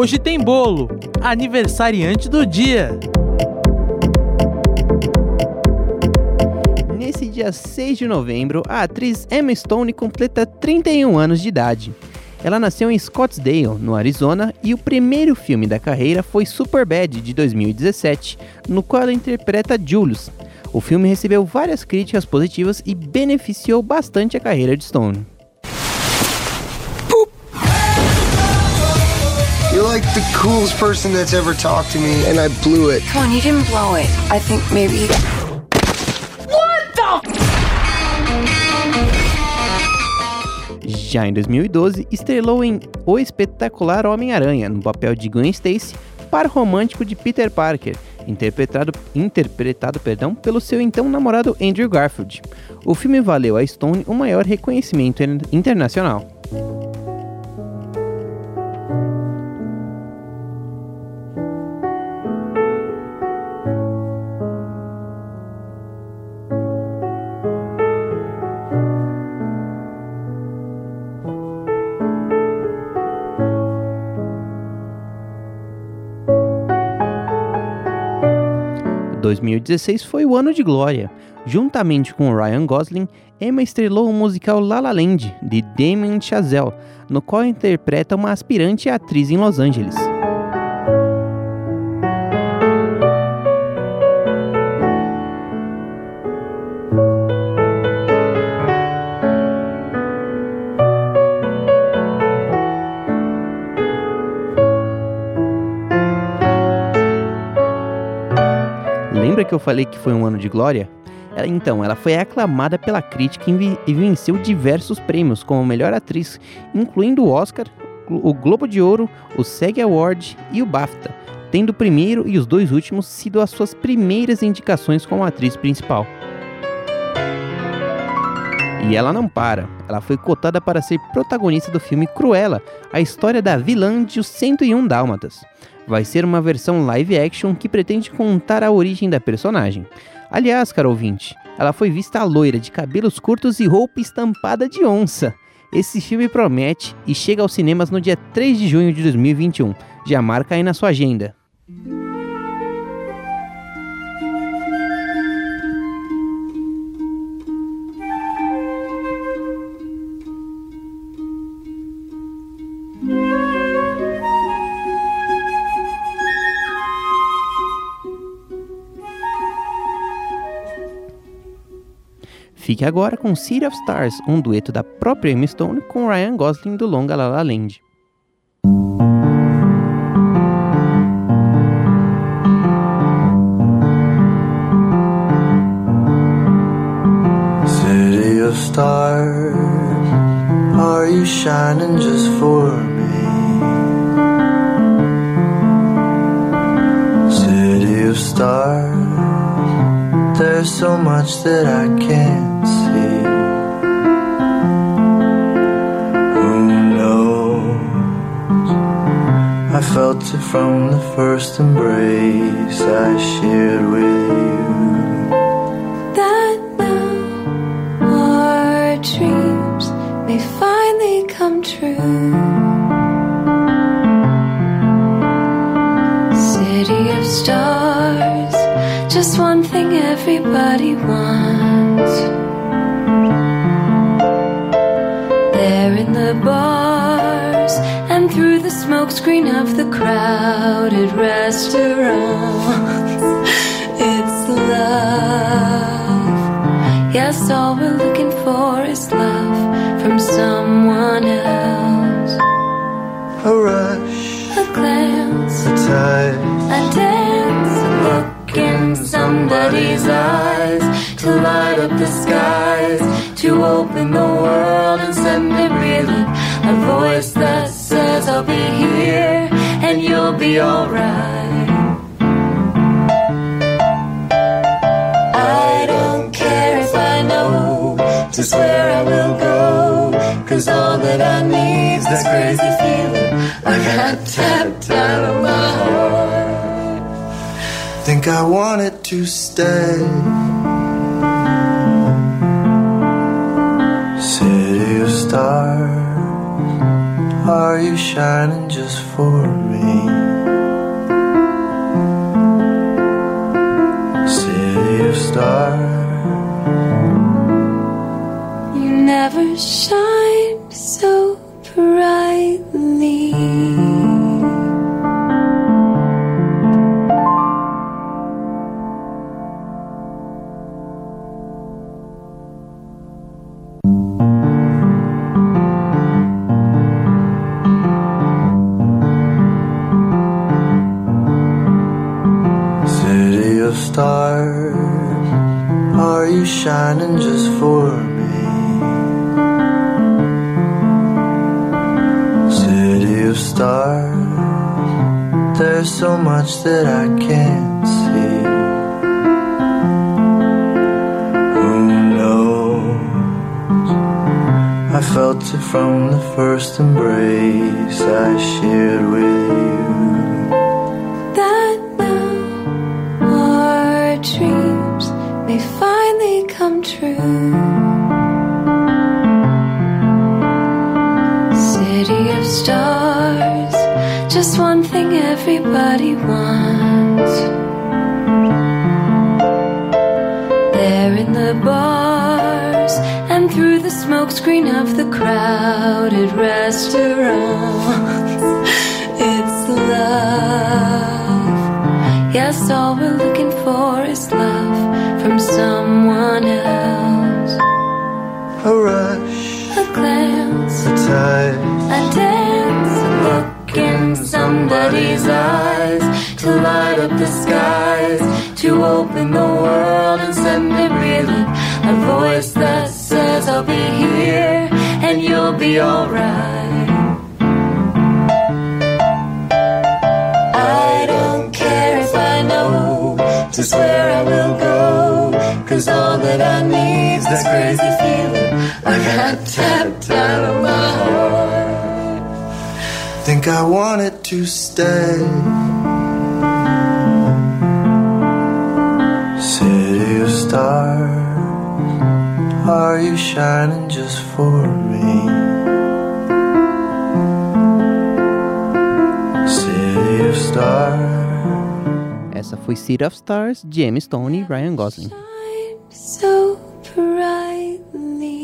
Hoje tem bolo, aniversariante do dia. Nesse dia 6 de novembro, a atriz Emma Stone completa 31 anos de idade. Ela nasceu em Scottsdale, no Arizona, e o primeiro filme da carreira foi Superbad, de 2017, no qual ela interpreta Julius. O filme recebeu várias críticas positivas e beneficiou bastante a carreira de Stone. You're like the coolest person that's ever talked to me, and I blew it. Come on, you didn't blow it. I think maybe... Já em 2012, estrelou em O Espetacular Homem-Aranha, no papel de Gwen Stacy, par romântico de Peter Parker, interpretado pelo seu então namorado Andrew Garfield. O filme valeu a Stone o maior reconhecimento internacional. Em 2016 foi o ano de glória. Juntamente com Ryan Gosling, Emma estrelou o musical La La Land, de Damien Chazelle, no qual interpreta uma aspirante atriz em Los Angeles. Lembra que eu falei que foi um ano de glória? Ela foi aclamada pela crítica e venceu diversos prêmios como melhor atriz, incluindo o Oscar, o Globo de Ouro, o SAG Award e o BAFTA, tendo o primeiro e os dois últimos sido as suas primeiras indicações como atriz principal. E ela não para, ela foi cotada para ser protagonista do filme Cruella, a história da vilã de Os 101 Dálmatas. Vai ser uma versão live action que pretende contar a origem da personagem. Aliás, caro ouvinte, ela foi vista loira, de cabelos curtos e roupa estampada de onça. Esse filme promete e chega aos cinemas no dia 3 de junho de 2021. Já marca aí na sua agenda. Fique agora com City of Stars, um dueto da própria Emma Stone com Ryan Gosling do longa La La Land. City of stars, are you shining just for me? City of stars, there's so much that I can't see. Who knows? I felt it from the first embrace I shared with you. That now our dreams may finally come true. City of stars, just one thing everybody wants. There in the bars and through the smokescreen of the crowded restaurants, it's love. Yes, all we're looking for is love from someone else. A rush, A glance, a touch, a dance, a look in somebody's eyes, to light up the skies, to open the world and send it reeling. A voice that says I'll be here and you'll be alright. I don't care if I know just where I will go, 'cause all that I need's this crazy feeling I got tapped out of my heart. think I wanted to stay. City of stars, Are you shining just for me? City of stars, you never shine so brightly. city of stars, are you shining just for me? City of stars, there's so much that I can't see. Who knows? I felt it from the first embrace I shared with you. That now our dreams may finally come true. City of stars, just one thing everybody wants. There in the bars and through the smokescreen of the crowded restaurants, it's love. Yes, all we're looking for is love from someone else. A rush, A glance, a touch, a dance, a look in somebody's eyes, to light up the skies, to open the world and send it reeling. A voice that says I'll be here and you'll be alright. I don't care if I know just where I will go, 'cause all that I need's this crazy feeling I got tapped out of my heart. think I want it to stay. City of stars, are you shining just for me? City of stars. Essa foi City of Stars, de Emma Stone e Ryan Gosling. Shine so brightly.